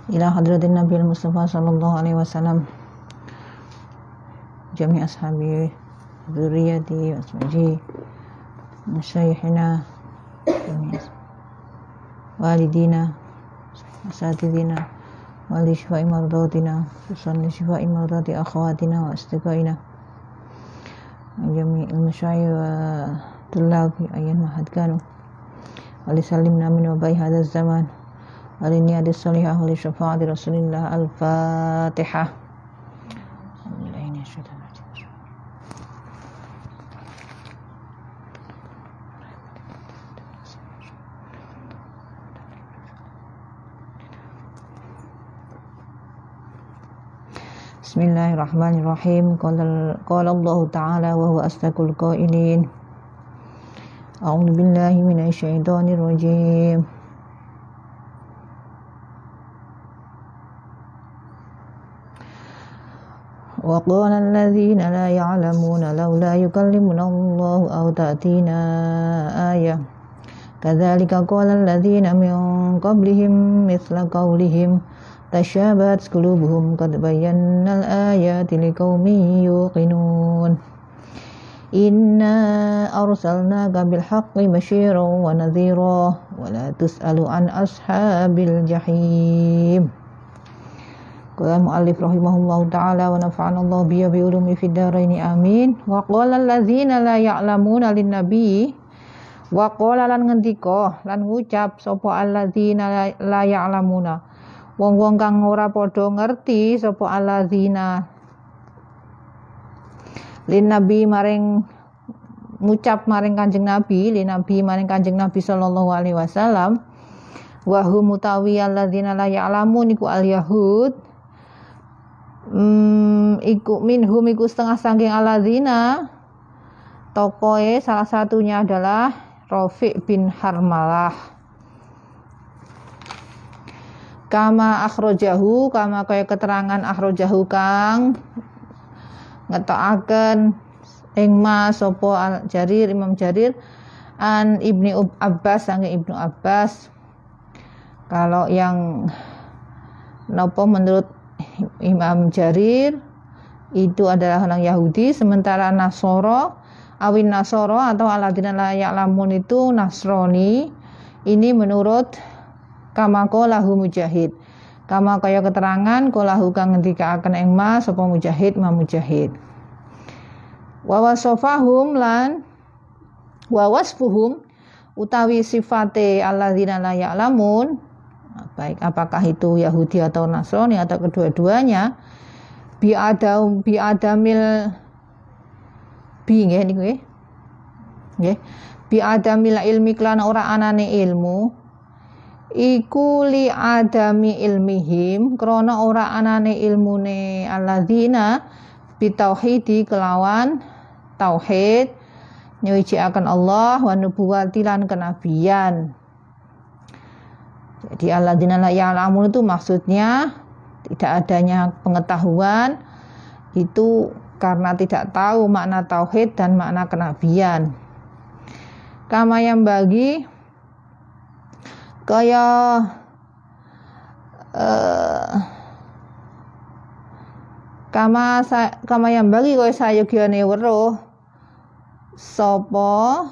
ila hadratin Nabi Mustafa sallallahu alaihi wasallam jami' ashabi dzurriyyati wasmaji masyayikhina walidina asatidina wali shifa'i mardatina susan shifa'i mardati akhawatina wa istiqaina jami' al-masyayikh wa tullabi ayyan mahad kanu wali salimna min wabai hadha zaman wali niyadi salihah wali syafa'ati rasulillah al-fatihah. Bismillahirrahmanirrahim. Qala Allah Ta'ala wa huwa asdaqul qailin. A'udzu billahi minasy syaithanir rajim. Wa qala alladziina la ya'lamuuna laula yukallimuna Allah aw ta'tina ayah. Kadzalika qala alladziina min qablihim mithla qawlihim tashabat qulubuhum qad bayyana al-ayati liqaumin yuqinun. Inna arsalnaka bil haqqi basyiran wa nadhira wa la tus'alu an ashabil jahim. Qala mu'allif rahimahullahu ta'ala wa nafa'ana Allah bi ulumi fid dharain amin. Wa qala alladzina la ya'lamuna lin nabi wa qala lan ngendika lan ngucap sapa alladzina la ya'lamuna wong-wong kang ora padha ngerti sapa alladzina lin nabi maring ngucap maring Kanjeng Nabi lin nabi maring Kanjeng Nabi sallallahu alaihi wasallam wa hum mutawi alladzina la ya'lamun iku al yahud iku minhum iku setengah saking alladzina tokoe salah satunya adalah Rafi' bin Harmalah. Kama akhrajahu kama kaya keterangan akhrajahu kang ngetokaken ing mas sapa Jarir Imam Jarir an Ibnu Abbas saking Ibnu Abbas. Kalau yang napa menurut Imam Jarir itu adalah orang Yahudi, sementara Nasoro awin Nasoro atau alladzina la ya'lamun itu Nasrani. Ini menurut kama qalahu Mujahid. Kama kaya keterangan qalahu kang ngendikaaken ing mas sapa Mujahid Imam Mujahid. Wa wasafahum lan wa wasfuhum utawi sifate alladzina la ya'lamun, baik apakah itu Yahudi atau Nasrani atau kedua-duanya, bi adamil bi nggih niku nggih. Bi adamil ilmi klan ora anane ilmu. Iku li adami ilmihim krana ora anane ilmune alladzina bitauhidi kelawan tauhid nyuciaken Allah wa nubuwati lan kenabian. Jadi alladzina la ya'lamun itu maksudnya tidak adanya pengetahuan itu karena tidak tahu makna tauhid dan makna kenabian. Kama yang bagi kaya kama yang bagi kaya sayogyane weruh sapa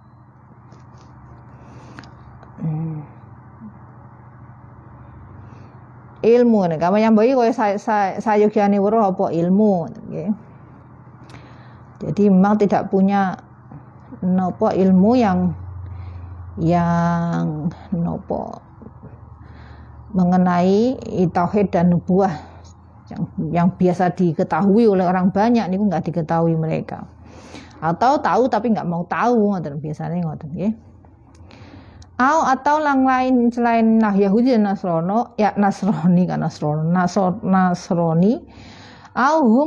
ilmu nek kama yang bagi kaya sayogyane weruh apa ilmu nggih. Jadi memang tidak punya napa ilmu yang nopo mengenai tauhid dan nubuah yang biasa diketahui oleh orang banyak niku enggak diketahui mereka, atau tahu tapi enggak mau tahu ngoten biasanya ngoten nggih. Atau yang lain selain Yahudi dan Nasrani hum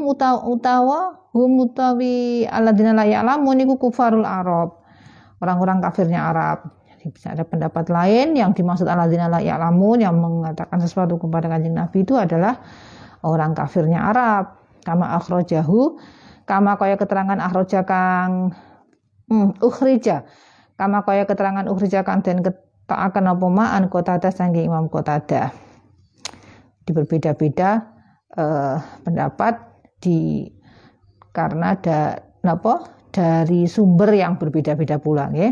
utawi alladzina la ya'lamun niku kufarul Arab, orang-orang kafirnya Arab. Jadi bisa ada pendapat lain yang dimaksud alladzina la ya'lamun yang mengatakan sesuatu kepada Kanjeng Nabi itu adalah orang kafirnya Arab. Kama akhrajahu, kama kaya keterangan akhraja kang ukhrija, kama kaya keterangan ukhrija kang den ketakaken apa ma'an Qatadah saking Imam Qatadah. berbeda-beda pendapat karena dari sumber yang berbeda-beda pula nggih.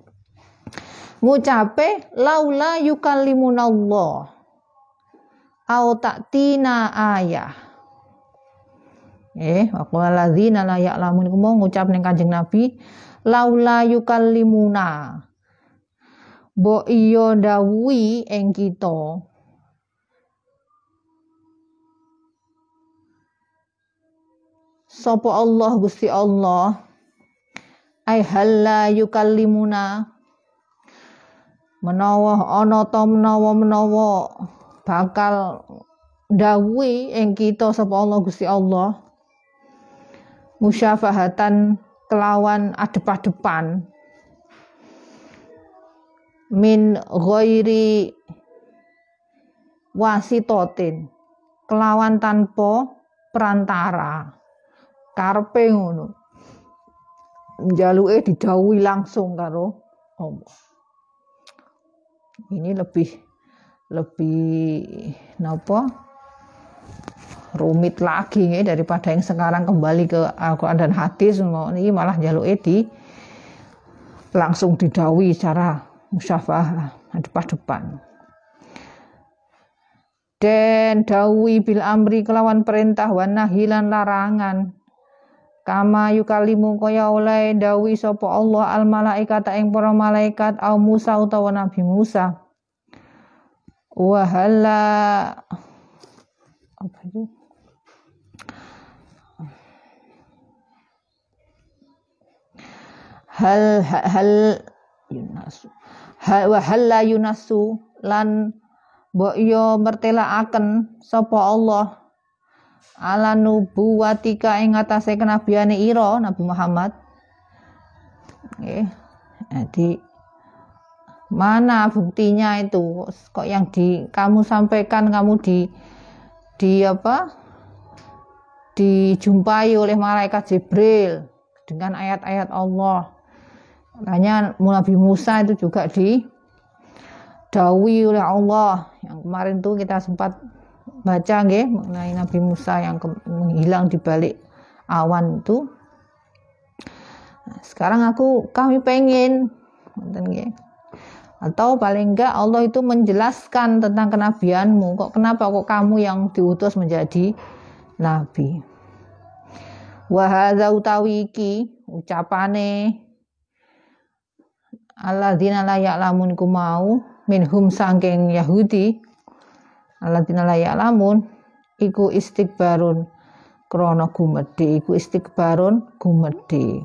Ngucape laula yukallimunallah au ta'tina ayah. Waqala ladzina la ya'lamun iku mau ngucap ning Kanjeng Nabi laula yukallimuna. Mbok iya dawuhi ing kita. Sapa Allah Gusti Allah ai halla yukallimuna menawa ana ta menawa bakal dawuhi ing kita sapa Allah Gusti Allah musyafahatan kelawan adep-adepan min ghairi wasitotin kelawan tanpa perantara karepe ngono njaluke didhawuhi langsung karo Allah. Ini lebih rumit lagi daripada yang sekarang kembali ke Al-Quran dan hadis. Ini malah njaluke langsung didhawuhi secara musyafahah depan. Den dawuhi bil amri kelawan perintah wan nahi lan larangan. Kama yukalimu kaya oleh dawi sapa Allah al malaikata ing para malaikat au Musa utawa Nabi Musa. Wa halla apa itu? Halla yunasu lan mbok yo mertelaaken sapa Allah ala nubuwatika ing atase kenabiane ira Nabi Muhammad. Nggih. Jadi mana buktinya itu? Kok yang kamu sampaikan kamu dijumpai oleh malaikat Jibril dengan ayat-ayat Allah. Makanya Nabi Musa itu juga didhawuhi oleh Allah. Yang kemarin tuh kita sempat baca nggih mengenai Nabi Musa yang menghilang di balik awan itu. Nah, sekarang kami pengen nggih. Atau paling enggak Allah itu menjelaskan tentang kenabianmu. Kenapa kamu yang diutus menjadi nabi? Wa hadza utawi iki ucapane alladzina la ya'lamun iku mau minhum saking Yahudi. Alladzina la ya'lamun iku istikbarun krana gumedhe, iku istikbarun gumedhe.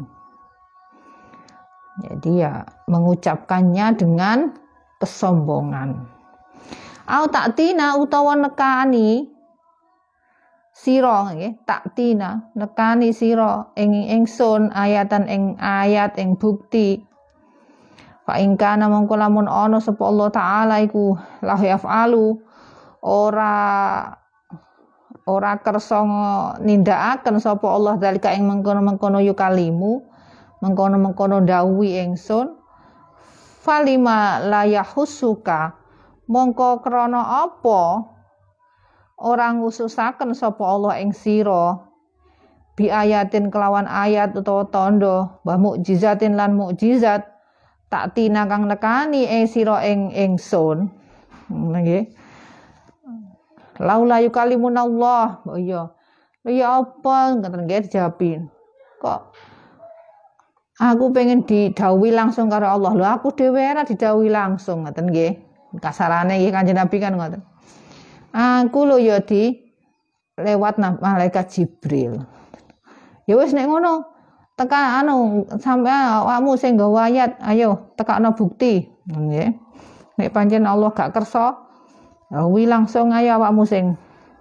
Jadi ya mengucapkannya dengan kesombongan. Au taktina utawa nekani sira nggih, taktina nekani sira ing ingsun ayatan ing ayat ing bukti. Fa ing kana mongko lamun ana sapa Allah taala iku la yafalu ora kersa nindakaken sapa Allah dalika ing mengkono-mengkono yukalimu mengkono-mengkono dawuhi ingsun falima la yahusuka mongko krana apa orang ngususaken sapa Allah ing sira bi ayatin kelawan ayat utawa tanda wa mukjizatin lan mukjizat taktina kang nekani sira ing ingsun nggih. Laula yukalimunallah. Oh iya. Ya apa ngoten nggih dijawabin. Kok aku pengen didhawuhi langsung karo Allah. Lho aku dhewe ora didhawuhi langsung ngoten nggih. Kasarane nggih Kanjeng Nabi kan ngoten. Aku lho ya lewat malaikat Jibril. Ya wis nek ngono teka sampe awakmu sing nggawa ayat, ayo tekakno bukti. Nggih. Nek pancen Allah gak kersa wi langsung ayo awakmu sing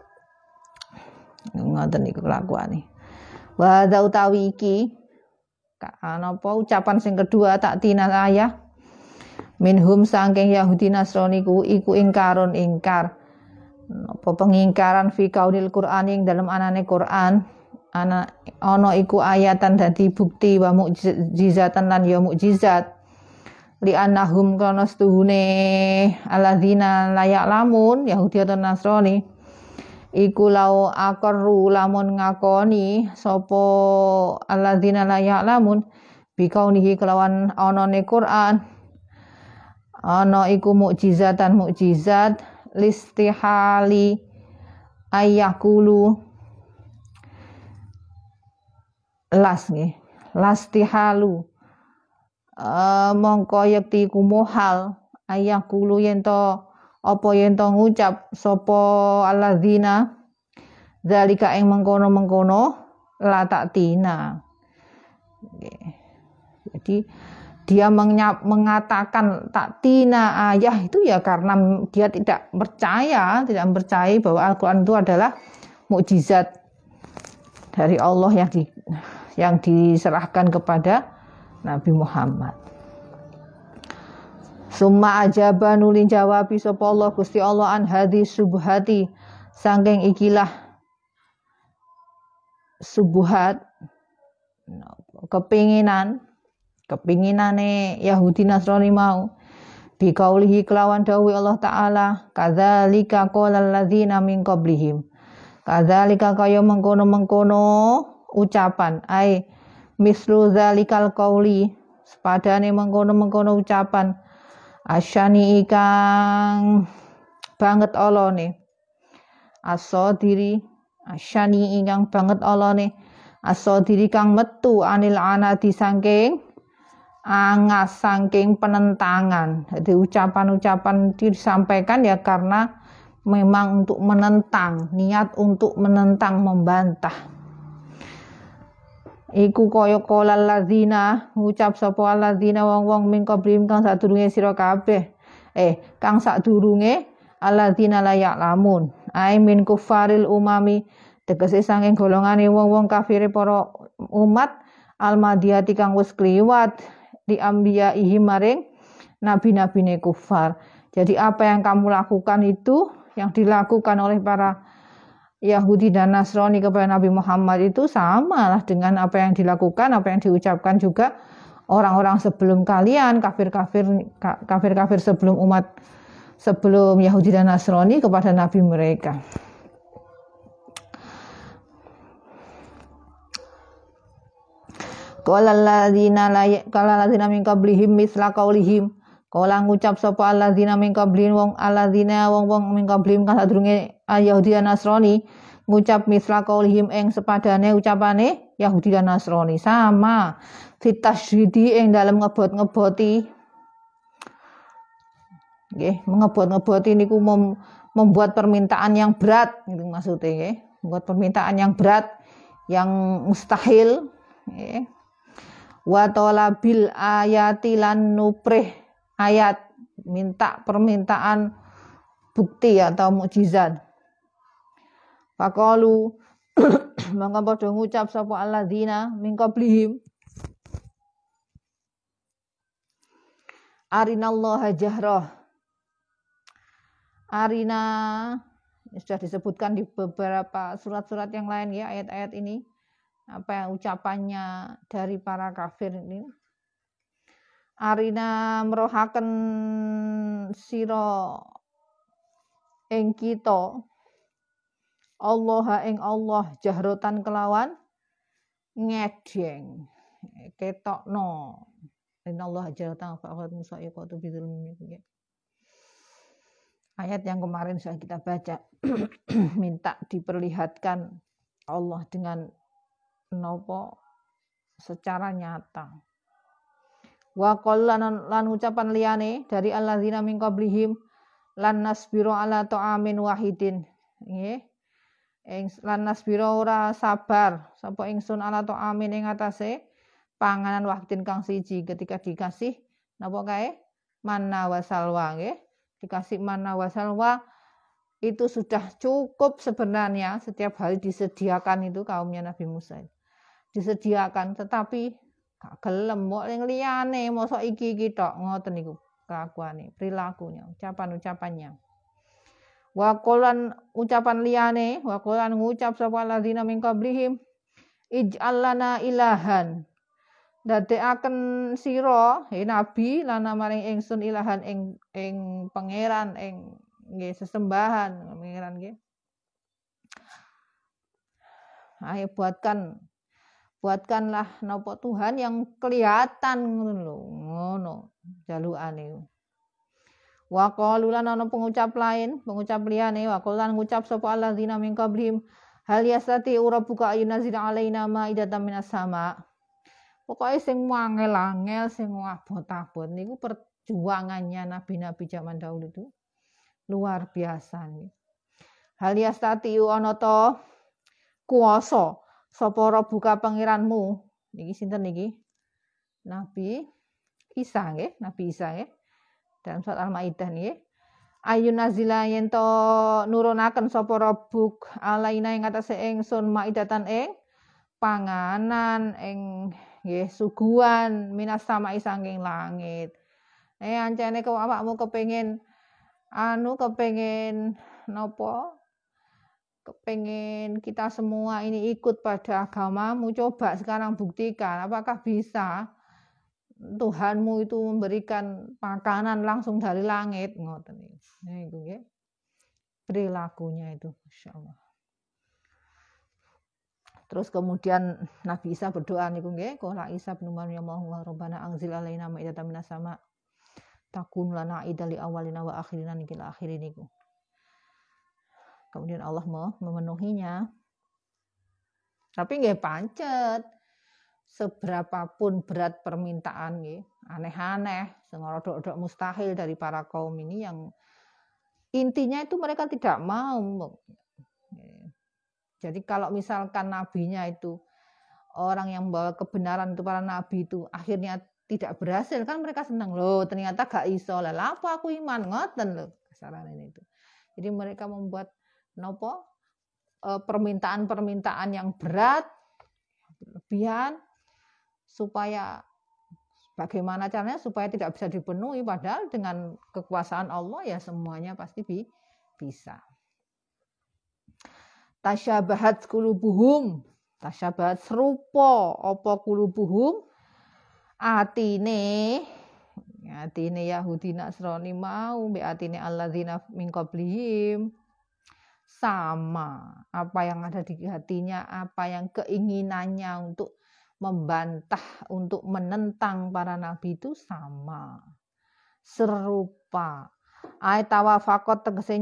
ngoten niku kelakuane. Wa za utawi iki napa ucapan sing kedua taktina ayah minhum saking Yahudi Nasrani iku ingkarun ingkar. Apa pengingkaran fi kaunil Qur'an ing dalam anane Qur'an ana iku ayatan dadi bukti wa mukjizatan lan ya mukjizat. Li annahum kana stuhune alladzina la ya'lamun Yahudi atau Nasrani iku lau aqarru lamun ngakoni sapa alladzina la ya'lamun bikaunihi kelawan anane Quran ana iku mukjizat listihali ayakulu lastihalu mongko yekti ku mohal ayakulu yen to ngucap sapa alladzina zalika ing mengkono la taktina. Jadi dia mengatakan taktina ayah itu ya karena dia tidak percaya bahwa Al-Quran itu adalah mukjizat dari Allah yang diserahkan kepada Nabi Muhammad. Summa ajaba nulin jawabi sapa Allah Gusti Allah an hadis subuhati saking ikilah subuhat kepinginane Yahudi Nasrani mau bikaulihi kelawan dawuh Allah taala kadzalika qalal ladzina min qablihim kadzalika kaya mengkono ucapan ai mislu zalikal qauli sepadane mengkono ucapan asyani ikang banget olone asodiri asyani ingkang banget olone asodiri kang metu anil anati saking angas saking penentangan. Jadi ucapan-ucapan disampaikan ya karena memang untuk menentang, niat untuk menentang, membantah. Iku kaya qolal ladzina ngucap sapa alladzina wong-wong min qablihim kang sadurunge sira kabeh kang sadurunge alladzina la ya'lamun ai min kufaril umami tegese saking golongane wong-wong kafire para umat almadiyati kang wis kliwat di ambiyahi maring nabi-nabine kufar. Jadi apa yang kamu lakukan itu yang dilakukan oleh para Yahudi dan Nasrani kepada Nabi Muhammad itu sama lah dengan apa yang dilakukan, apa yang diucapkan juga orang-orang sebelum kalian, kafir-kafir sebelum Yahudi dan Nasrani kepada Nabi mereka. Qala alladzina min qablihim misla qaulihim. Kala ngucap sapa alladzina min qablihim wong min qablihim kan sadurunge Yahudi dan Nasrani ngucap misla qaulihim ing sepadane ucapane Yahudi dan Nasrani sama fitasydidi ing dalem ngebot-ngeboti nggih ngebot-ngeboti niku membuat permintaan yang berat gitu maksudnya nggih membuat permintaan yang berat yang mustahil nggih wa talabil ayati lan nuprih ayat minta permintaan bukti atau mukjizat. Faqalu mangka padha ngucap sapa alladzina min qablihim arinallaha jahrah. Arina sudah disebutkan di beberapa surat-surat yang lain ya ayat-ayat ini apa yang ucapannya dari para kafir ini. Arina merohaken sira ing kita Allah ing Allah jahrotan kelawan ngedeng ketokno innallaha jahrotan fa'at musaiqatu bidzulmi. Ayat yang kemarin sudah kita baca minta diperlihatkan Allah dengan nopo secara nyata. Wa qallan lan ucapan liyane dari alladzina min qablihim lan nasbiru ala ta'amin wahidin nggih lan nasbiru ora sabar sapa ingsun ala ta'amin ing atase panganan wahidin kang siji ketika dikasih napa kae manna wa salwa nggih dikasih manna wa salwa itu sudah cukup sebenarnya setiap hari disediakan itu kaumnya Nabi Musa disediakan tetapi gak gelem kok ning liyane mosok iki tok ngoten niku kelakuane perilakunya ucapan-ucapannya wa qolan ucapan liyane wa qolan ngucap sapa alladzina min qablihim ij'al lana ilahan dadekaken sira nabi lana maring ingsun ilahan ing pangeran ing nggih sesembahan pangeran nggih Ayo buatkanlah nopo Tuhan yang kelihatan ngono jalukane. Wa qalu lan ana pengucap liyane wa qalan ngucap sapa alladzina min qablihim hal yastati rabbuka ayunazila alaina ma'idatan minas sama. Pokoke sing angel-angel sing abot-abot niku perjuangannya nabi-nabi zaman dahulu itu luar biasa nih. Hal yastati ana to kuwasa sapa rabbuka pangeranmu niki sinten niki? Nabi Isa nggih, Nabi Isa nggih. Dalam surat Al-Maidah nggih. Ayunazila yen to nurunaken sapa rabbuk alaina ing atase ingsun maidatan ing panganan ing nggih suguhan minas samai saking langit. Ancene kok awakmu kepengin napa? Kepengin kita semua ini ikut pada agamamu, coba sekarang buktikan apakah bisa Tuhanmu itu memberikan makanan langsung dari langit ngoten niku nggih. Perilakunya itu masyaallah. Terus kemudian Nabi Isa berdoa niku nggih, qala Isa bin Maryam wa rabbana anzil alaina ma'idatan minas sama takun lana idali awalina wa akhirina nikil akhirin niku. Kemudian Allah memenuhinya. Tapi nggih pancet seberapapun berat permintaan nggih, aneh-aneh, sing rodok-rodok mustahil dari para kaum ini yang intinya itu mereka tidak mau. Jadi kalau misalkan nabinya itu orang yang membawa kebenaran itu para nabi itu akhirnya tidak berhasil kan mereka senang loh ternyata gak iso lah apa aku iman ngoten loh kasaran ini itu. Jadi mereka membuat permintaan-permintaan yang berat berlebihan supaya bagaimana caranya supaya tidak bisa dipenuhi padahal dengan kekuasaan Allah ya semuanya pasti bisa. Tasyabahat qulubuhum, tasyabahat serupa apa qulubuhum atine Yahudi Nasrani mau mbek atine alladzina min qablihim sama apa yang ada di hatinya, apa yang keinginannya untuk membantah, untuk menentang para nabi itu sama, serupa. Tawafaqat tegese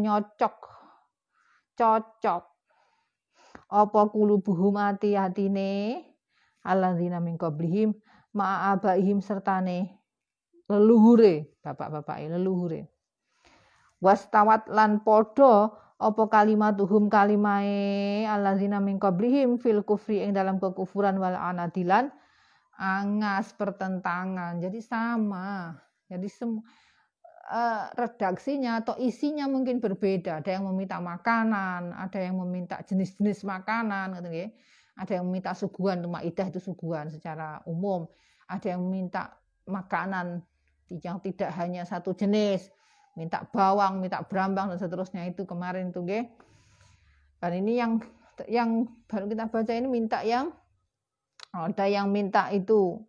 cocok. Apa qulubuhum hatine alladzina min qablihim ma'abaihim sertane leluhure, bapak-bapak leluhure. Wastawat lan podo apa kalimatuhum kalimae alladzina min qablihim fil kufri ing dalam kekufuran wal anadilan angas pertentangan. Jadi sama. Jadi redaksinya atau isinya mungkin berbeda. Ada yang meminta makanan, ada yang meminta jenis-jenis makanan gitu ya. Ada yang meminta suguhan, maidah itu suguhan secara umum. Ada yang meminta makanan yang tidak hanya satu jenis. Minta bawang, minta berambang dan seterusnya itu kemarin tuh nggih. Dan ini yang baru kita baca ini minta yang ada yang minta itu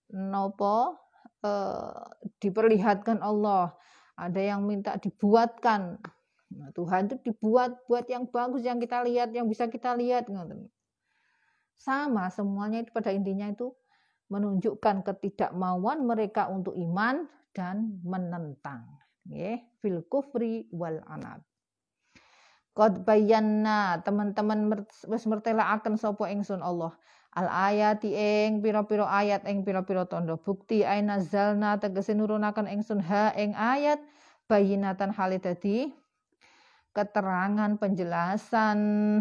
diperlihatkan Allah, ada yang minta dibuatkan. Nah, Tuhan itu buat yang bagus yang kita lihat, yang bisa kita lihat. Sama semuanya itu pada intinya itu menunjukkan ketidakmauan mereka untuk iman dan menentang. Fil kufri wal anad. Qad bayyana teman-teman wis mertelakaken sapa ingsun Allah al ayati ing pira-pira ayat ing pira-pira tanda bukti ainazalna tegese nurunaken ingsun ha ing ayat bayyinatan hale dadi keterangan penjelasan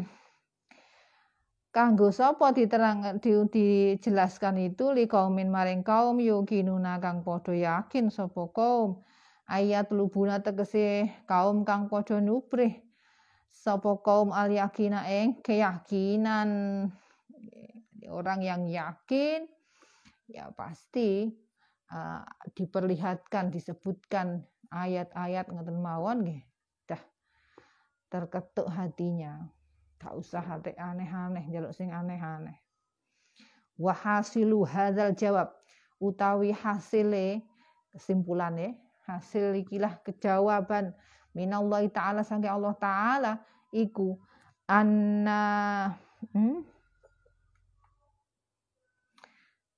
kanggo sapa dijelaskan itu li kaumin maring kaum yukinuna kang padha yakin sapa kaum ayat lubuna tegese kaum kang padha nubrih sapa kaum al yakina ing keyakinan. Orang yang yakin ya pasti diperlihatkan disebutkan ayat-ayat ngoten mawon nggih dah terketuk hatinya. Gak usah hati aneh-aneh njaluk sing aneh-aneh. Wa hasilu hadzal jawab utawi hasile kesimpulane hasil ikilah kejawaban minallahi ta'ala saking Allah ta'ala iku anna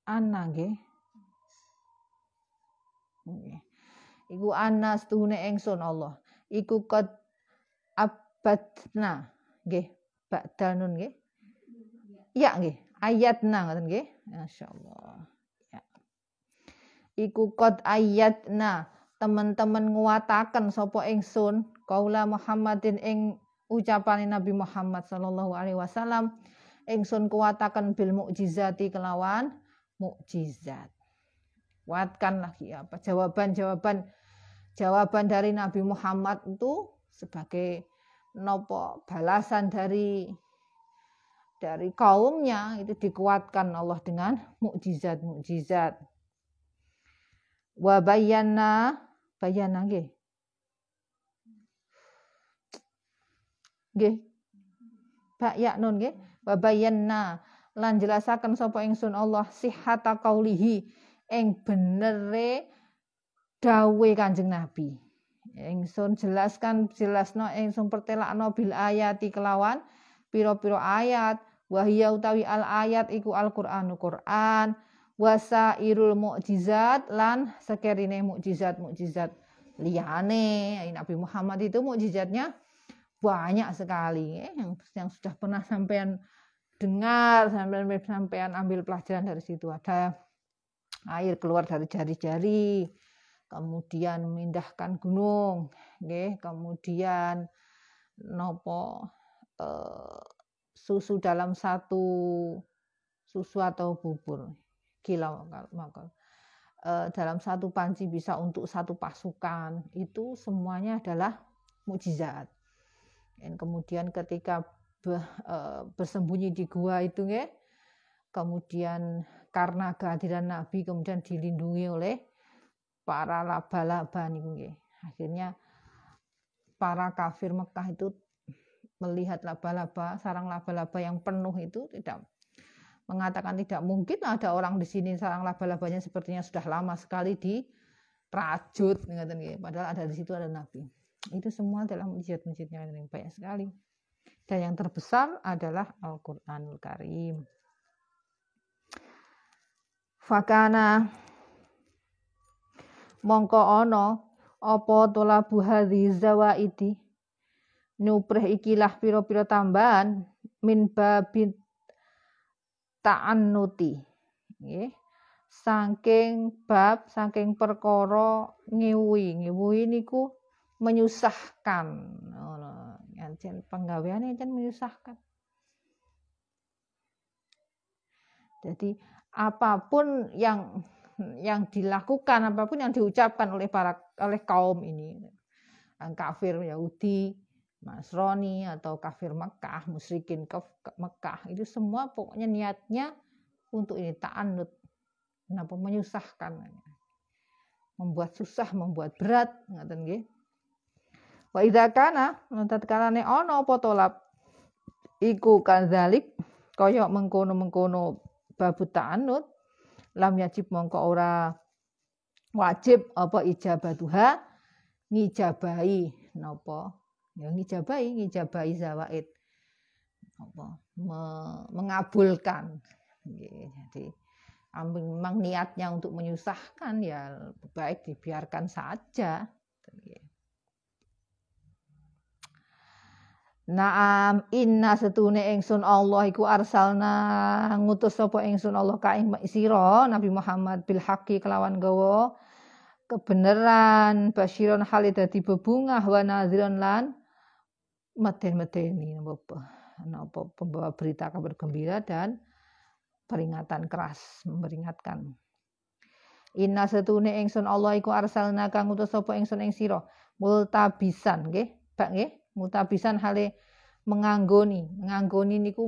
Ana nggih. Nggih. Iku ana setuhune ingsun Allah. Iku qad abadna nggih. Ba'dal nun nggih. Ya nggih. Ayatna ngoten nggih. Masyaallah. Ya. Iku qad ayatna teman-teman nguwataken sapa ingsun qaula Muhammadin ing ucapane Nabi Muhammad sallallahu alaihi wasallam ingsun kuwataken bil mukjizati kelawan mukjizat. Kuatkan lagi apa jawaban dari Nabi Muhammad itu sebagai nopo balasan dari kaumnya itu dikuatkan Allah dengan mukjizat. Wa bayana nggih. Nggih. Ba ya nun nggih. Wa bayanna lan jelasaken sapa ingsun Allah sihhata qaulihi ing benere dawuhe Kanjeng Nabi. Ingsun jelasno ingsun pertelakno bil ayati kelawan pira-pira ayat wahya utawi al ayat iku Al-Qur'anul Qur'an wasairul mukjizat lan sekerine mukjizat liyane Nabi Muhammad itu mukjizatnya banyak sekali yang sudah pernah sampean dengar sampean ambil pelajaran dari situ. Ada air keluar dari jari-jari, kemudian memindahkan gunung, kemudian susu dalam satu susu atau bubur kilau dalam satu panci bisa untuk satu pasukan, itu semuanya adalah mukjizat. Dan kemudian ketika bersembunyi di gua itu kemudian karena kehadiran Nabi kemudian dilindungi oleh para laba-laba niku. Akhirnya para kafir Mekah itu melihat sarang laba-laba yang penuh itu mengatakan tidak mungkin ada orang di sini sarang laba-labanya sepertinya sudah lama sekali dirajut, padahal ada di situ ada Nabi. Itu semua adalah mujizat-mujizatnya yang banyak sekali. Dan yang terbesar adalah Al-Qur'anul Karim. Fakana mongko ana apa tolabu hadzi zawaidi nuprih ikilah pira-pira tambahan min babin ta'annuti nggih saking perkara ngiwi niku menyusahkan ngono jan penggaweane jan menyusahkan. Jadi apapun yang dilakukan, apapun yang diucapkan oleh kaum ini, kafir Yahudi, Nasrani atau kafir Mekah, musyrikin Mekah, itu semua pokoknya niatnya untuk ini ta'annud, kenapa menyusahkan, membuat susah, membuat berat, ngoten nggih. Wa idza kana tatkala ana apa tolab iku kadzalik kaya mengkono babu ta'annud lam yajib mongko ora wajib apa ijabatuha ngijabahi napa ya ngijabahi zawaid apa mengabulkan nggih. Jadi memang niatnya untuk menyusahkan ya baik dibiarkan saja. Naam inna setune ingsun Allah iku arsalna ngutus sapa ingsun Allah ka ing sira Nabi Muhammad bil haqqi kelawan gawa kebenaran basyiron hale dadi bebungah wa nadhiron lan meden-medeni napa pembawa berita kabar gembira dan peringatan keras memperingatkan. Inna setune ingsun Allah iku arsalna kang ngutus sapa ingsun ing sira multabisan nggih bak nggih mutabisan hale menganggoni niku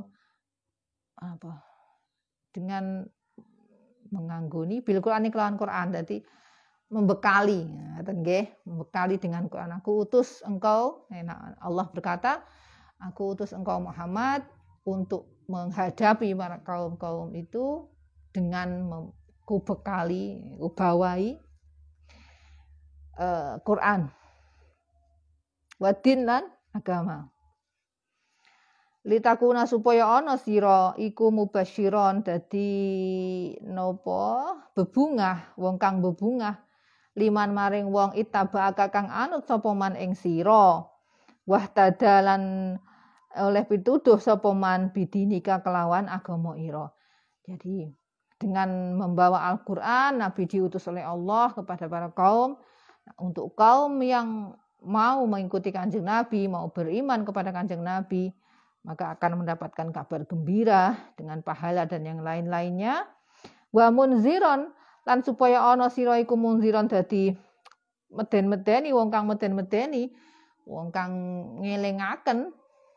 dengan menganggoni bil Qur'an kelawan Qur'an, dadi membekali ngoten nggih, membekali dengan Qur'an. Aku utus engkau, Allah berkata, aku utus engkau Muhammad untuk menghadapi para kaum-kaum itu dengan kubekali, kubawahi Qur'an. Wadin lan agama. litakuna supaya ana sira iku mubasyiron dadi napa bebungah wong kang bebungah liman maring wong ittaba'aka kang anut sapa man ing sira wahtadalan oleh pituduh sapa man bidinika kelawan agama ira. Jadi dengan membawa Al-Qur'an Nabi diutus oleh Allah kepada para kaum. Untuk kaum yang mau mengikuti Kanjeng Nabi, mau beriman kepada Kanjeng Nabi, maka akan mendapatkan kabar gembira dengan pahala dan yang lain-lainnya. Wa munziron lan supaya ana sira iku munziron dadi meden-medeni wong kang meden-medeni, wong kang ngelingaken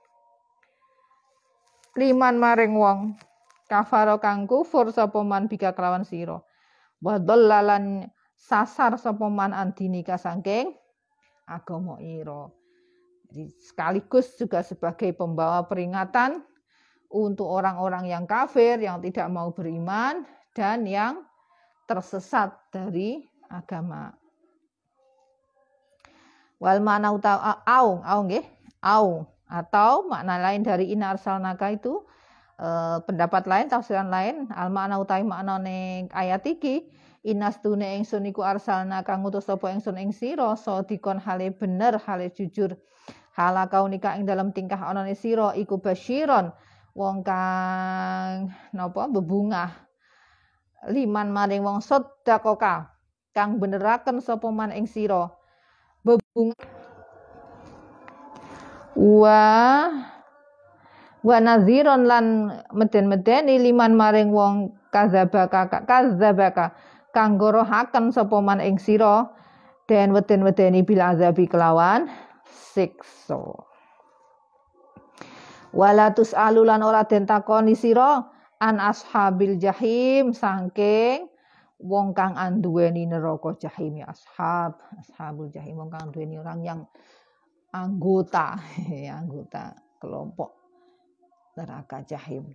liman maring wong kafaro kang kufur sapa man bika kelawan sira. Wa dhallalan sasar sapa man andinika saking agama ira. Jadi sekaligus juga sebagai pembawa peringatan untuk orang-orang yang kafir, yang tidak mau beriman dan yang tersesat dari agama. Wal mana au nggih, au atau makna lain dari inna arsalnaka itu pendapat lain, tafsiran lain, al makna utawi maknane ayat iki inastune ingsun iku arsalna kang ngutus sapa ingsun ing sira sadikon hale bener hale jujur halakaunika ing dalam tingkah anane sira iku basyiron wong kang napa bebungah liman maring wong sedekah kang beneraken sapa man ing sira bebungah wa nadhiron lan meden-medeni liman maring wong kadzabaka kang gorohaken sapa man ing sira den weden-wedeni bil azabi kelawan siksa. Wala tusalulan ora den takoni sira an ashabil jahim saking wong kang anduweni neraka jahim ya ashabul jahim wong kang anduweni orang yang anggota kelompok neraka jahim.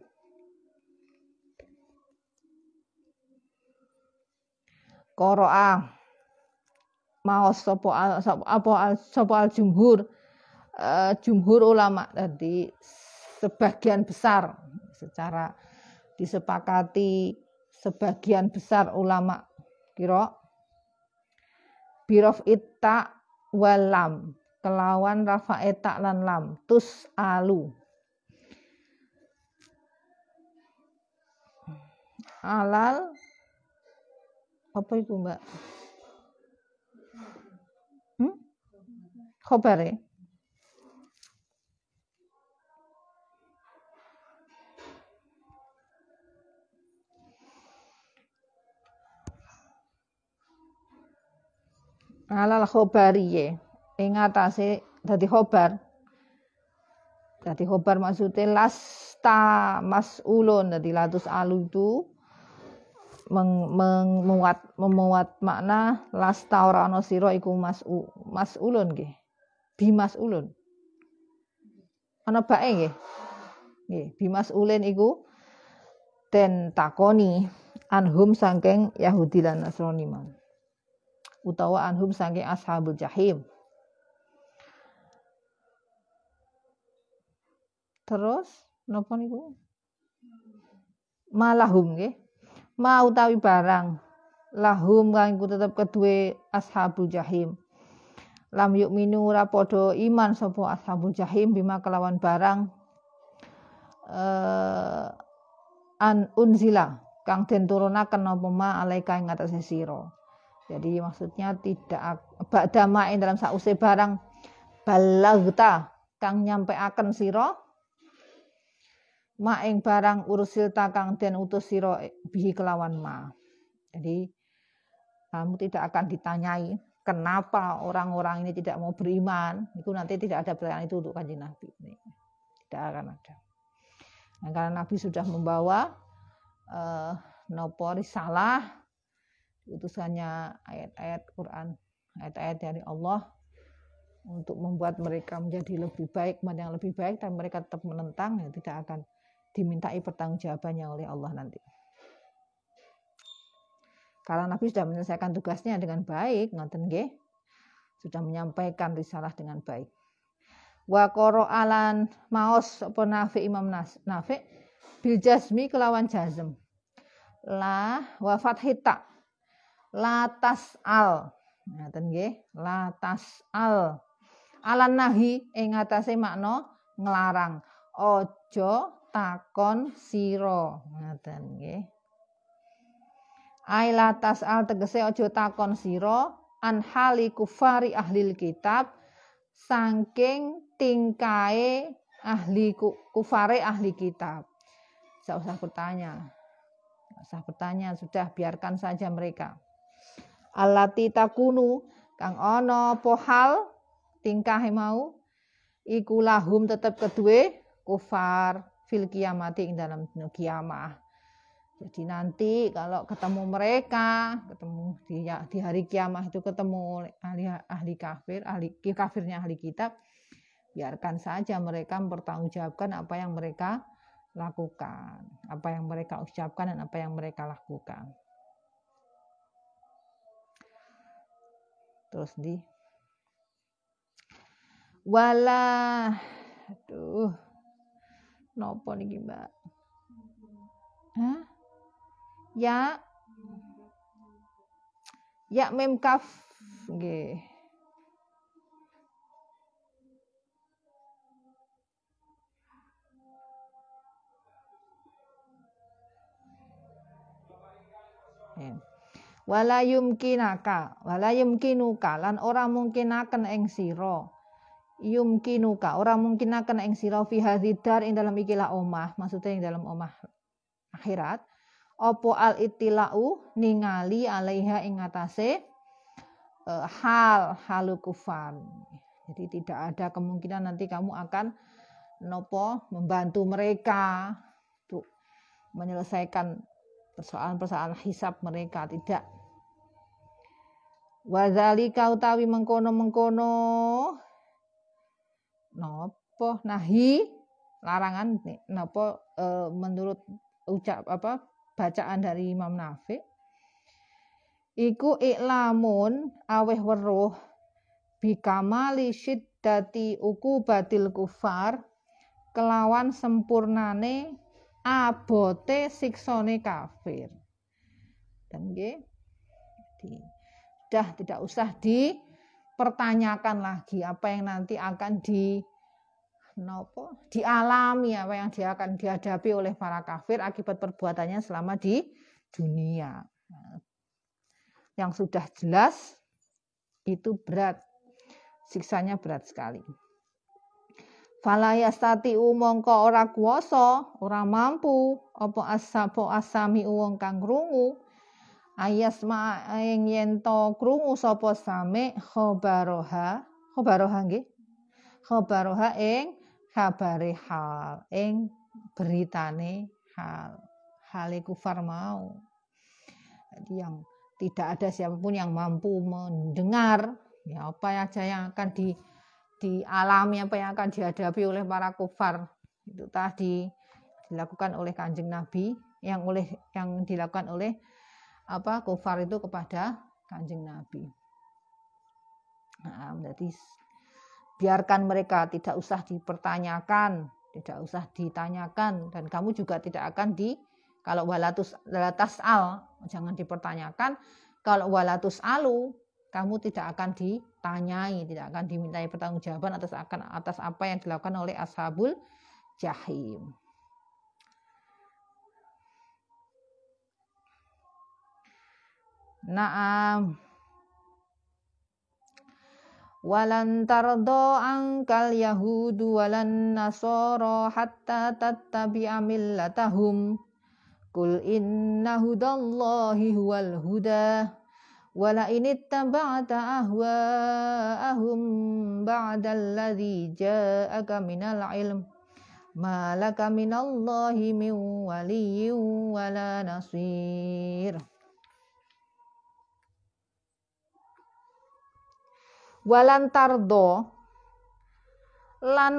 Qara'a maos sapa al jumhur ulama tadi sebagian besar secara disepakati sebagian besar ulama kira birof itta walam kelawan rafa eta lan lam tus alu alal apa itu Mbak? Khobare. Alal khobariye ing atase dadi khobar. Dadi khobar maksudnya lasta mas'ulun dadi latus alu itu memuat makna lasta ora ana sira iku mas'ulun nggih. Bimas'ulun. Ana bae nggih. Nggih, bimas'ulin iku den takoni anhum saking Yahudi lan Nasrani man. Utawa anhum saking ashabul jahim. Terus napa niku? Malahum nggih. Ma utawi barang lahum kang iku tetep kedue ashabul jahim. Lam yu'minu ora padha iman sapa ashabul jahim bima kelawan barang an unzila kang den turunaken apa ma alaika ing atase sira. Jadi maksudnya tidak ba'da ma'in dalam sause barang balagta kang nyampeaken sira ma ing barang ursilta kang den utus sira bihi kelawan ma. Jadi kamu tidak akan ditanyai kenapa orang-orang ini tidak mau beriman. Itu nanti tidak ada pertanyaan itu untuk Kanjeng Nabi. Tidak akan ada. Nah, karena Nabi sudah membawa nopo risalah utusannya ayat-ayat Quran, ayat-ayat dari Allah untuk membuat mereka menjadi lebih baik, yang lebih baik, dan mereka tetap menentang, ya tidak akan dimintai pertanggungjawabannya oleh Allah nanti. Karena Nabi sudah menyelesaikan tugasnya dengan baik, ngoten nggih, sudah menyampaikan risalah dengan baik. Wa qara'alan maos apa Nafi Imam Nafi bil jazmi kelawan jazm. La wa fathita. La tas'al. Ngaten nggih, la tas'al. Alan nahi ing atase makna nglarang. Aja takon sira. Ngaten nggih. Ai la tas'al tegese aja takon sira an hali kufari ahlil kitab saking tingkae ahli kufare ahli kitab. Tidak usah bertanya. Tidak usah bertanya, sudah biarkan saja mereka. Allati takunu kang ana apa hal tingkahe mau iku lahum tetep kedue kufar fil kiamati ing dalam kiamah. Jadi nanti kalau ketemu mereka, ketemu di hari kiamah itu ketemu ahli kafir, kafirnya ahli kitab, biarkan saja mereka mempertanggungjawabkan apa yang mereka lakukan, apa yang mereka ucapkan dan apa yang mereka lakukan. Terus wala, aduh, nopo niki Mbak? Hah? Ya mem kaf nggih. Wala yumkinuka lan ora mungkinaken ing sira. Yumkinuka ora mungkinaken ing sira fi hadzidar ing dalam ikilah omah, maksudnya ing dalam omah akhirat. Opo al ittilau ningali alaiha ing atase halu kufar. Jadi tidak ada kemungkinan nanti kamu akan membantu mereka untuk menyelesaikan persoalan-persoalan hisab mereka, tidak. Wadzalika utawi mengkono-mengkono nahi larangan menurut bacaan dari Imam Nafi iku iklamun aweh weruh bikamali syiddati uqubatil kufar kelawan sempurnane abote siksane kafir. Dan nggih sudah tidak usah dipertanyakan lagi apa yang nanti akan dialami, apa yang dia akan dihadapi oleh para kafir akibat perbuatannya selama di dunia. Yang sudah jelas itu berat, siksanya berat sekali. Fala yastati'u mongko ora kuwasa, ora mampu apa asami wong kang krungu ayasma ing yen to krungu sapa sami khabaroha nggih. Khabaroha ing kabare hal ing beritane hal kufar mau. Jadi yang tidak ada siapapun yang mampu mendengar ya apa aja yang akan dialami, apa yang akan dihadapi oleh para kufar itu tadi dilakukan oleh Kanjeng Nabi, yang dilakukan oleh kufar itu kepada Kanjeng Nabi. Nah, berarti biarkan mereka, tidak usah dipertanyakan, tidak usah ditanyakan, dan kamu juga tidak akan kalau walatus al jangan dipertanyakan, kalau walatus alu kamu tidak akan ditanyai, tidak akan dimintai pertanggungjawaban atas apa yang dilakukan oleh ashabul jahim. Naam. Walan tardo angkal yahudu walan nasoro hatta tattabi'a millatahum kul inna hudallahi huwal huda wala inittaba'ta ahwa'ahum ba'dalladzi ja'aka minal ilm ma laka minallahi min waliyyin wala nasir. Walan tardo lan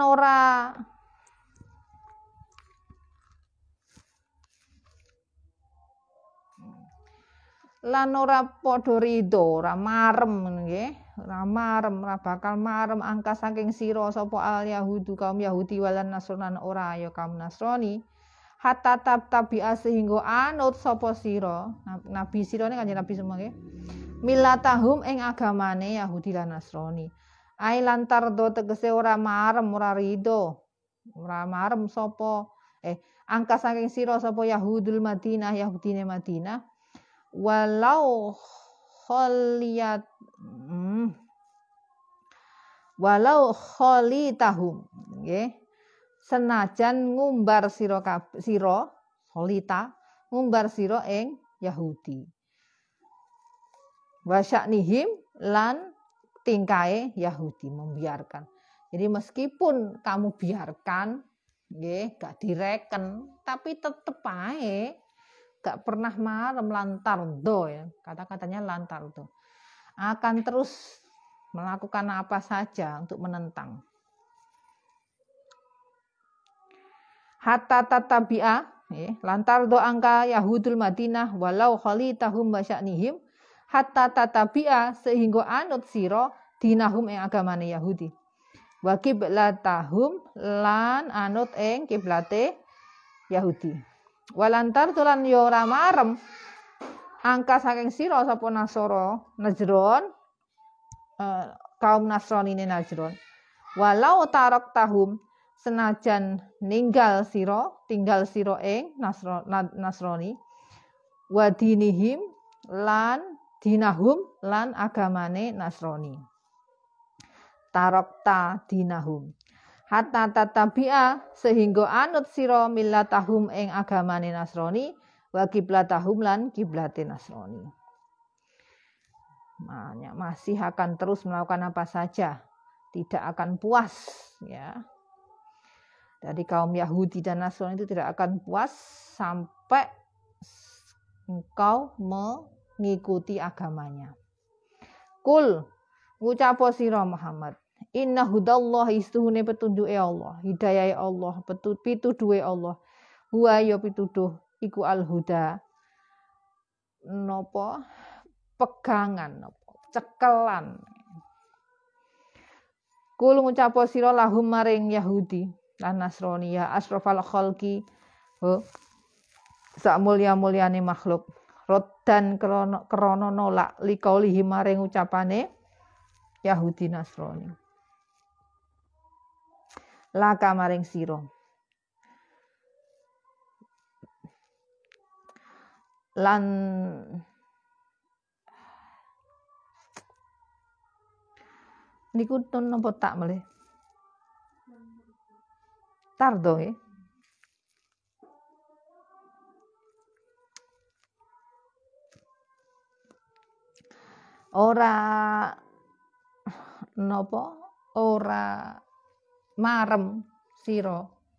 lan ora padha rido, ora marem nggih, ora marem, ora bakal marem angka saking sira sapa al yahudu kaum Yahudi walan Nasrani ora ya kaum Nasrani. Hatta tabi'a sehingga anut sapa sira, nabi sira ne Kanjeng Nabi semua nggih. Milatahum ing agamane Yahudi lan Nasrani. Ai lantar do tegese ora marem, ora rido. Ora marem sapa angka saking sira sapa Yahudul Madinah, Yahudine Madinah. Walau kholitahum nggih senajan ngumbar sira kholita ngumbar sira ing Yahudi wa sya'nihim lan tingkae Yahudi membiarkan. Jadi meskipun kamu biarkan nggih gak direken tapi tetep ae gak pernah marem lantardo ya. Kata-katanya lantardo. Akan terus melakukan apa saja untuk menentang. Hatta tatabi'a lantardo angka Yahudul Madinah walau kholitahum wa sya'nihim hatta tatabi'a sehingga anut sira dinahum ing agamane Yahudi. Wa qiblatahum lan anut ing kiblate Yahudi. Walantar tulan yo ora marem angka saking sira sapa Nasara Najron kaum Nasrani ne Najron walau tarok tahum senajan tinggal sira ing Nasrani wa dinihim lan dinahum lan agamane Nasrani tarokta dinahum hatta tatabi'a sehingga anut sira millatahum ing agamane Nasrani wa qiblatahum lan kiblate Nasrani. Masih akan terus melakukan apa saja, tidak akan puas ya. Dari kaum Yahudi dan Nasrani itu tidak akan puas sampai engkau mengikuti agamanya. Kul ngucapo sira Muhammad inna hudallahi istuhune petunjuke Allah, hidayahe Allah, pituduhe Allah. Huwa ya pituduh iku al-huda. Napa? Pegangan napa? Cekelan. Kul ngucapo sira lahum maring Yahudi lan Nasrani ya asrafal khalqi. Sak mulya-mulyane makhluk. Roddan krana nolak liqaulihi maring ucapane Yahudi Nasrani. Laka maring sira lan niku tun napa tak melih tardo nggih ora napa ora marem sira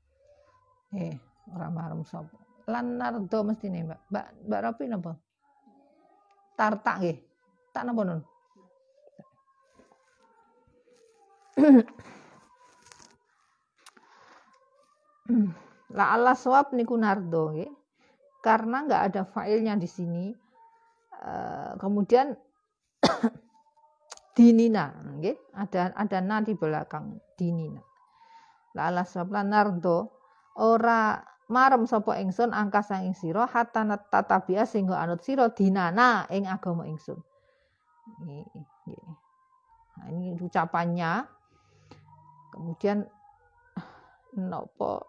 ora marem sapa lan nardo mestine Mbak Ropi napa tartak nggih tak napa nun la Allah swab niku nardo nggih karena enggak ada failnya di sini kemudian dinina nggih ada na di belakang dinina la Allah swab lan nardo ora marem sapa ingsun angka sang ing sira hatta tatabia sehingga anut sira dinana ing agama ingsun. Nah, ini ucapannya. Kemudian napa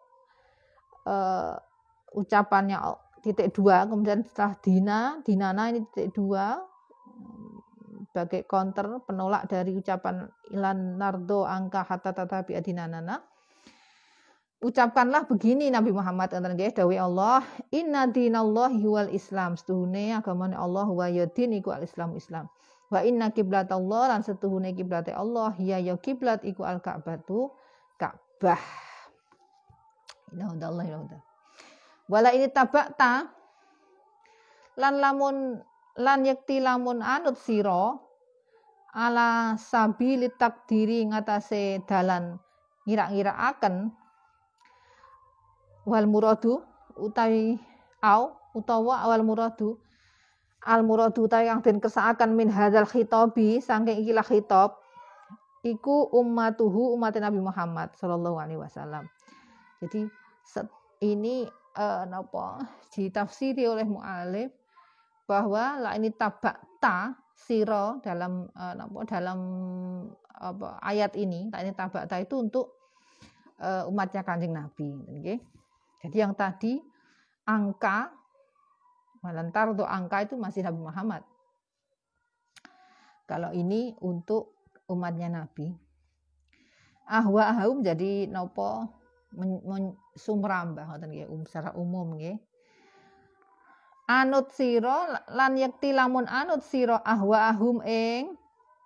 ucapannya titik dua, kemudian setelah dinana ini titik dua sebagai counter penolak dari ucapan ilan nardo angka hatta tatabia dinanana. Ucapkanlah begini Nabi Muhammad nggih dawuh Allah inna dinallahi wal islam setuhune agamane Allah wa yadin iku al Islam wa inna qiblatallah lan setuhune kiblate Allah ya kiblat iku al Ka'batu Ka'bah inna hudallahi wala ini tabakta lan yakti lamun anut sira ala sabili takdiri ngatasé dalan ngira-ngiraaken wal muradu utawa awal muradu al muradu ta kang den kersakaken min hadzal khitabi saking ikilah khitab iku ummatuhu umat Nabi Muhammad sallallahu alaihi wasallam. Jadi ini ditafsiri oleh mu'alif bahwa la ini tabakta siro dalam ayat ini, la ini tabakta itu untuk umatnya Kanjeng Nabi. Okay? Jadi yang tadi angka malantar untuk angka itu masih Nabi Muhammad. Kalau ini untuk umatnya Nabi. Ahwa ahum jadi nopo sumrambah ngoten nggih secara umum nggih. Anut sira lan yakti lamun anut sira ahwa ahum ing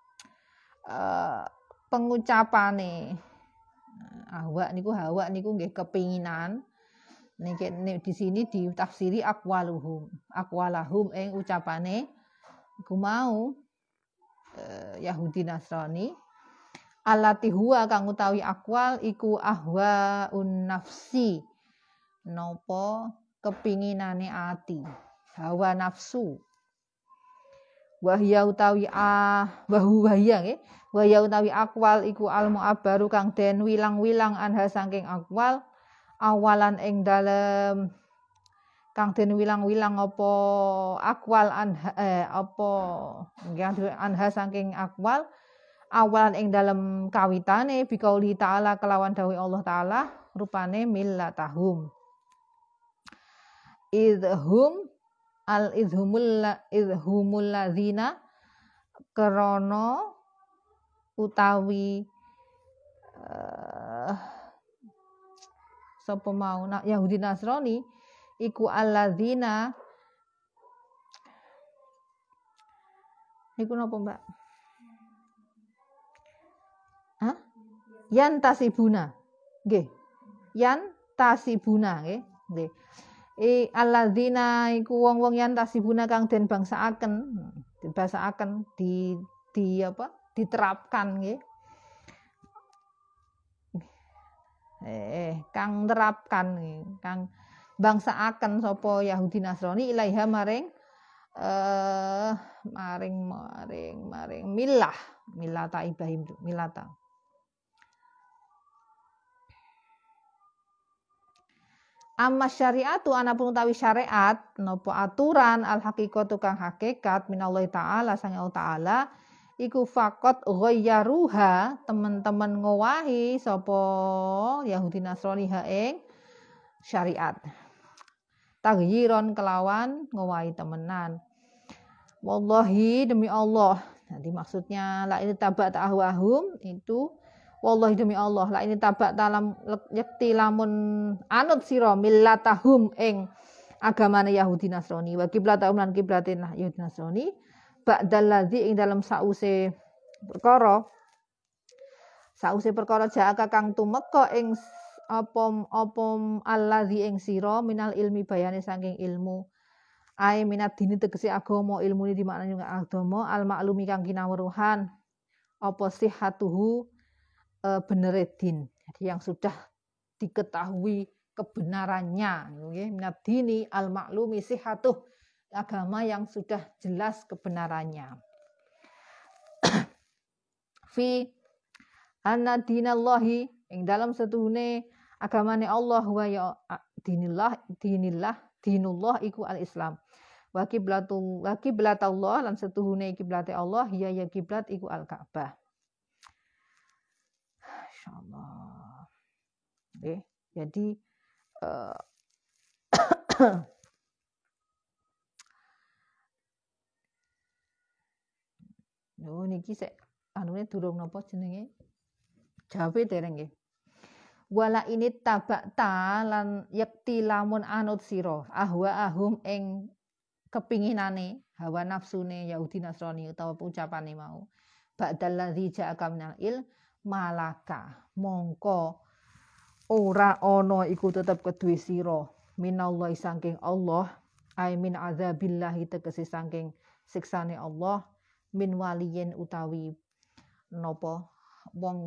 pengucapane. Ahwa niku nggih kepinginan. Niki di sini ditafsiri aqwalahum ing ucapane iku mau Yahudi Nasrani allati huwa kang utawi aqwal iku ahwaun nafsi napa kepinginane ati hawa nafsu wahya utawi wahya nggih wahya utawi aqwal iku al mu'abbaru kang den wilang-wilang anha saking aqwal awalan ing dalem kang den wilang-wilang apa aqwal anha saking aqwal awalan ing dalem kawitane biqauli ta'ala kelawan dawuh Allah taala rupane millatahum idhumul ladzina krana utawi sapa mau Yahudi Nasrani iku alladzina niku napa Mbak? Hah? Yan tasibuna. Nggih. Yan tasibuna nggih. Nggih. Alladzina iku wong-wong yan tasibuna kang den bangsaaken, dibasaaken diterapkan nggih. Kang nerapkan kang bangsaaken sapa Yahudi Nasrani ilaiha maring millata Ibrahim millata amma syariatu anapun utawi syariat napa aturan al haqiqatu kang hakikat minallahi taala sang Allah taala iku faqat ghayyaruha teman-teman ngowahi sapa Yahudi Nasrani ha ing syariat taghyiron kelawan ngowahi temenan wallahi demi Allah nanti maksudnya la ini tabak ta'ahwahum itu wallahi demi Allah la ini tabak dalam yakti lamun anut sira millatahum ing agamane Yahudi Nasrani wa qiblatahum lan kiblate Yahudi Nasrani ba'dal ladzi ing dalam sause perkara ja'aka kang tumeka ing apa alladzi ing sira minal ilmi bayane saking ilmu ai minat dini tegese agama ilmune di maknane agama al maklumi kang kinawruhan apa sihatuhu benere din jadi yang sudah diketahui kebenarannya nggih minat dini al maklumi sihatuh agama yang sudah jelas kebenarannya fi anna dinallahi ing dalam setuhune agamane Allah wa ya dinullah iku al-Islam wa qiblatullah lan setuhune kiblate Allah ya kiblat iku al-Ka'bah insyaallah nggih jadi niki sik anune durung napa jenenge jawabe dereng nggih wala ini tabakta lan yakti lamun anut sira ahum ing kepinginane hawa nafsune Yahudi Nasrani utawa ucapane mau ba'dal ladzi ja'aka minal malaka mongko ora ana iku tetep kedue sira minallahi saking Allah ai min azabillahi tegese saking siksane Allah min waliyin utawi napa wong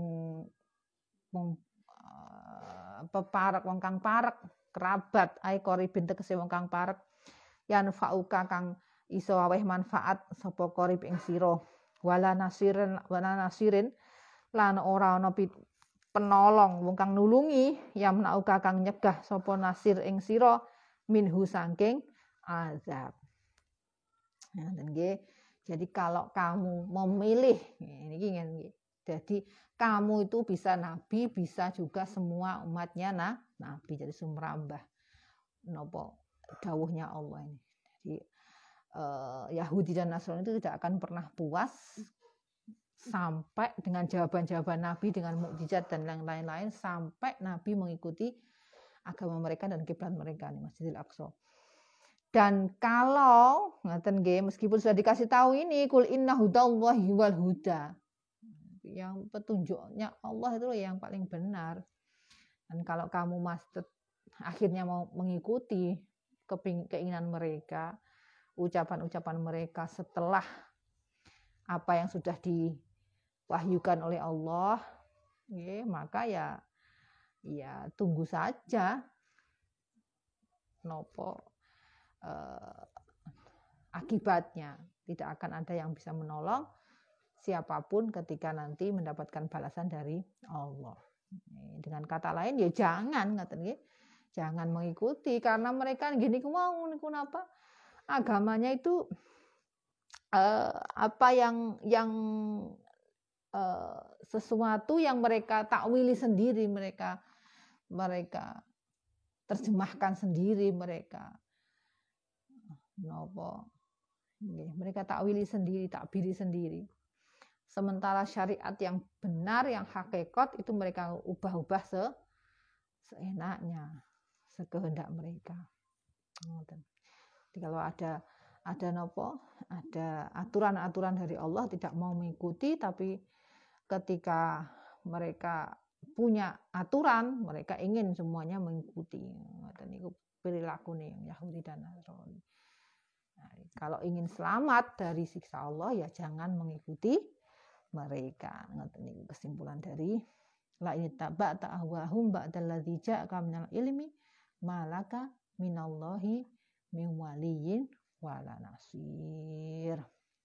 peparek kerabat ai koribin tegese wong kang parek yan fauka kang iso aweh manfaat sapa qarib ing sira wala nasirin lan ora ana penolong wong kang nulungi yamnauka kang nyegah sapa nasir ing sira minhu saking azab. Nah, jadi kalau kamu memilih ini jadi kamu itu bisa nabi, bisa juga semua umatnya nabi, jadi sumrambah nopo dawuhnya Allah ini. Jadi Yahudi dan Nasrani itu tidak akan pernah puas sampai dengan jawaban-jawaban Nabi dengan mukjizat dan yang lain-lain sampai Nabi mengikuti agama mereka dan kiblat mereka nih Masjidil Aqsa. Dan kalau ngaten nggih meskipun sudah dikasih tahu ini kul inna hudallahi wal huda. Yang petunjuknya Allah itu yang paling benar. Dan kalau kamu akhirnya mau mengikuti keinginan mereka, ucapan-ucapan mereka setelah apa yang sudah diwahyukan oleh Allah, maka ya tunggu saja nopo akibatnya. Tidak akan ada yang bisa menolong siapapun ketika nanti mendapatkan balasan dari Allah. Dengan kata lain ya jangan jangan mengikuti karena mereka gini mau apa agamanya itu apa yang sesuatu yang mereka takwili sendiri, mereka terjemahkan sendiri, mereka takwili sendiri, takbiri sendiri. Sementara syariat yang benar, yang hakikat itu mereka ubah-ubah seenaknya, sekehendak mereka. Jadi kalau ada aturan-aturan dari Allah tidak mau mengikuti, tapi ketika mereka punya aturan, mereka ingin semuanya mengikuti. Itu perilaku nih Yahudi dan Nasrani. Nah, kalau ingin selamat dari siksa Allah ya jangan mengikuti mereka. Ini kesimpulan dari la ittaba'ta ahwahum ba'dallazi ja'aka minal ilmi malaka minallahi min waliyyin wala nasir.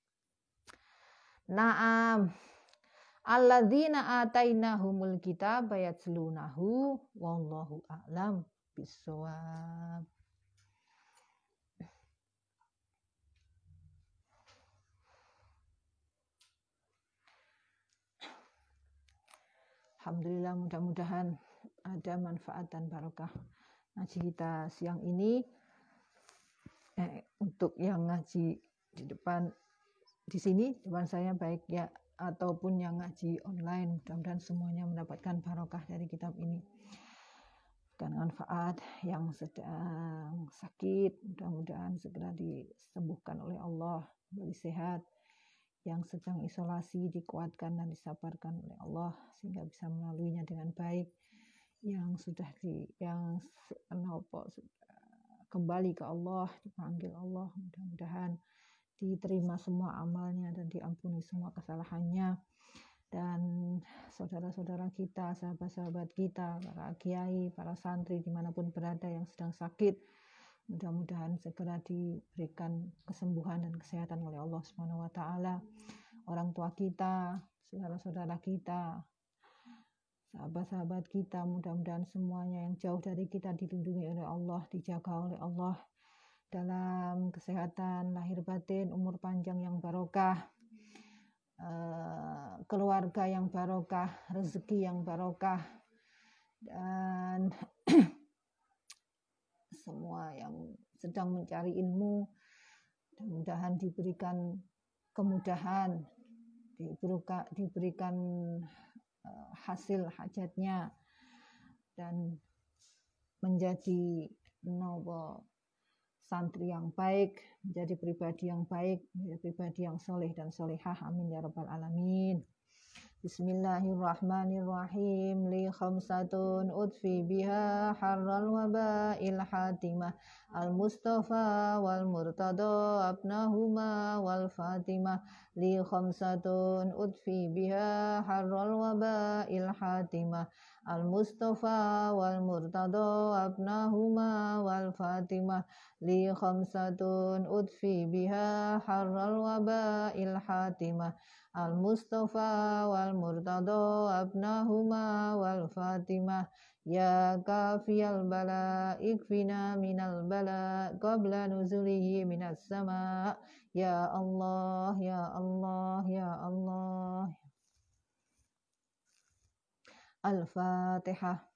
Naam alladzina atainahumul kitaba yatslunahu wallahu a'lam bissawab. Alhamdulillah, mudah-mudahan ada manfaat dan barokah ngaji kita siang ini. Untuk yang ngaji di depan di sini depan saya baik ya ataupun yang ngaji online, mudah-mudahan semuanya mendapatkan barokah dari kitab ini dan manfaat. Yang sedang sakit mudah-mudahan segera disembuhkan oleh Allah, beri sehat. Yang sedang isolasi dikuatkan dan disabarkan oleh Allah sehingga bisa melaluinya dengan baik. Yang sudah kembali ke Allah, dipanggil Allah, mudah-mudahan diterima semua amalnya dan diampuni semua kesalahannya. Dan saudara-saudara kita, sahabat-sahabat kita, para kiai, para santri dimanapun berada yang sedang sakit, mudah-mudahan segera diberikan kesembuhan dan kesehatan oleh Allah Subhanahu wa taala. Orang tua kita, saudara-saudara kita, sahabat-sahabat kita, mudah-mudahan semuanya yang jauh dari kita dilindungi oleh Allah, dijaga oleh Allah dalam kesehatan lahir batin, umur panjang yang barokah, keluarga yang barokah, rezeki yang barokah, dan semua yang sedang mencari ilmu mudah-mudahan diberikan kemudahan, diberikan hasil hajatnya dan menjadi santri yang baik, menjadi pribadi yang baik, menjadi pribadi yang soleh dan solehah. Amin ya rabbal alamin. Bismillahirrahmanirrahim. Li khamsatun udfi biha harral waba'il hatimah. Al-Mustafa wal Murtada abnahuma wal Fatimah. Li khamsatun udfi biha harral waba'il hatimah. Al-Mustafa wal Murtada abnahuma wal Fatimah. Li khamsatun udfi biha harral waba'il hatimah. Al-Mustafa wal Murtada abnahuma wal Fatimah. Ya kafiyal bala ikfina minal bala qabla nuzulihi minas sama. Ya Allah, ya Allah, ya Allah. Al-Fatihah.